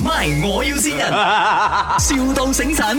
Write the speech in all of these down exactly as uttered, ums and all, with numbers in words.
My 我要先人，,笑到醒神。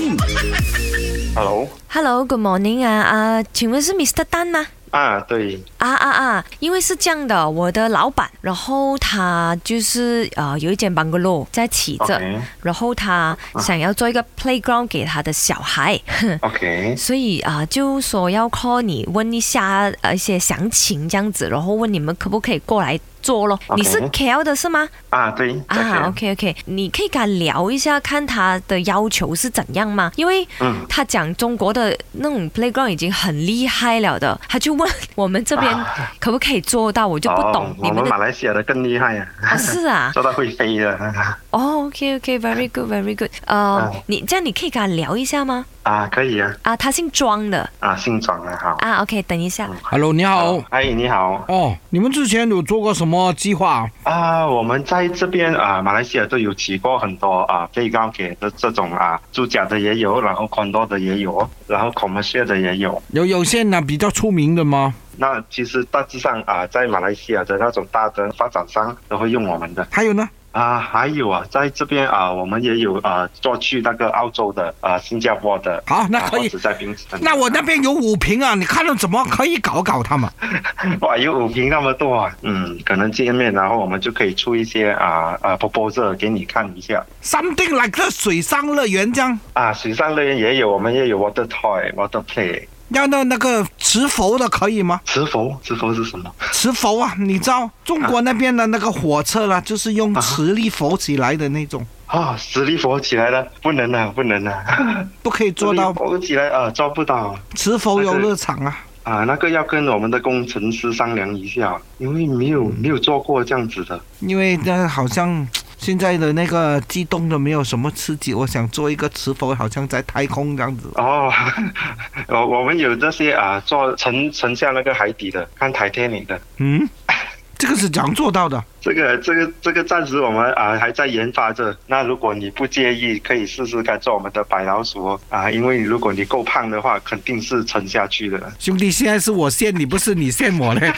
Hello，Hello，Good morning 啊啊，请问是 Mister Tan 吗？ 啊，对啊啊啊！因为是这样的，我的老板，然后他就是呃有一间 bungalow 在起着， ，OK， 然后他想要做一个 playground 给他的小孩， OK， 所以啊、呃、就说要 call 你问一下呃一些详情这样子，然后问你们可不可以过来做咯。 OK 你是 K L 的是吗？ 啊，对啊 ，OK OK， 你可以跟他聊一下，看他的要求是怎样吗？因为嗯他讲中国的那种 playground 已经很厉害了的，他就问我们这边可不可以做到，我就不懂哦、 你们的。 我们马来西亚的更厉害啊！ 哦，是啊。 做到会飞的。 哦 ，OK OK，very good，very good。呃，你这样你可以跟他聊一下吗？ 啊，可以啊。 啊，他姓庄的。 啊，姓庄啊，好。 啊，OK，等一下。 Hello， 你好。 哎，你好。 哦，你们之前有做过什么计划？ 啊，我们在这边啊，马来西亚都有起过很多啊，playground给的这种啊，住家的也有，然后 condo 的也有，然后 commercial 的也有。 有有些呢比较出名的吗？ 那其实大致上啊，在马来西亚的那种大的发展商都会用我们的。 还有呢？ 啊，还有啊，在这边啊，我们也有啊，做去那个澳洲的啊，新加坡的。 好，那可以。 啊、在槟城。 那我那边有五瓶啊，你看了怎么可以搞搞他们？ 哇，有五瓶那么多啊！嗯，可能见面，然后我们就可以出一些啊啊 proposal 给你看一下。 Something like 个水上乐园这样。 啊，水上乐园也有，我们也有 water toy、water play。 要那那个磁浮的可以吗？ 磁浮，磁浮是什么？ 磁浮啊，你知道中国那边的那个火车啦、啊，就是用磁力浮起来的那种。 啊，磁力浮起来了，不能啊，不能啊， 不可以做到。 浮起来啊，做不到。 磁浮游乐场啊。 啊，那个要跟我们的工程师商量一下，因为没有没有做过这样子的。 因为那好像现在的那个机动的没有什么刺激，我想做一个磁浮，好像在太空这样子。 哦，我我们有这些啊，做沉沉下那个海底的，看海天里的。 嗯。这个是怎样做到的？ 这个这个这个暂时我们啊还在研发着。那如果你不介意，可以试试看做我们的白老鼠啊，因为如果你够胖的话，肯定是沉下去的。 兄弟，现在是我限你，不是你限我嘞。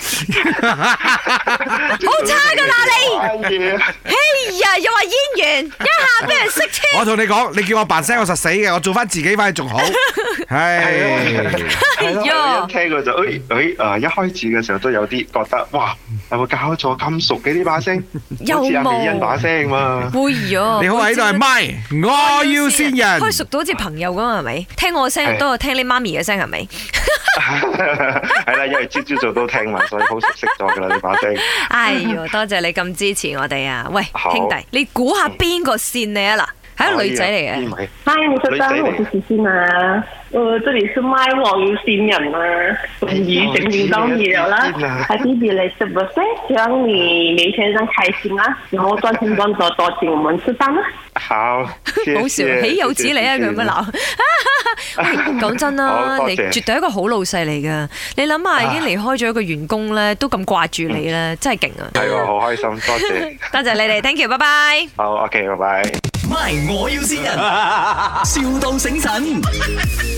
好差噶啦你！哎呀，又話演員，一下俾人識車。 我同你講，你叫我扮聲，我實死嘅，我做翻自己翻去仲好。係。 係咯，一聽過就誒誒誒，一開始嘅時候都有啲覺得哇，有冇搞錯咁熟嘅呢把聲？好似阿美欣把聲嘛。 會呀！ 你好喺度係咪？我要先人。 開熟到好似朋友咁係咪？聽我聲多過聽你媽咪嘅聲係咪？ 係啦，因為朝朝早都聽嘛，所以好熟悉咗噶啦呢把聲。 哎呦，多謝你咁支持我哋啊！喂，兄弟，你估下邊個線你啊嗱？係個女仔嚟嘅。 嗨，你知道我是思欣啊。呃，這裡是My 我要先人啊，終於整見到你了啦。Happy belated birthday，希望你每天都開心啊，然後賺錢賺多多請我們吃飯啊。 好， 好笑，豈有此理啊！佢咁樣鬧。喂，講真啦，你絕對係一個好老細嚟噶。你諗下，已經離開咗一個員工咧，都咁掛住你咧，真係勁啊！ 係喎，好開心，多謝。 多謝你哋 ，thank you，拜拜。 好 ，OK，拜拜。 My 我要先人，笑到醒神。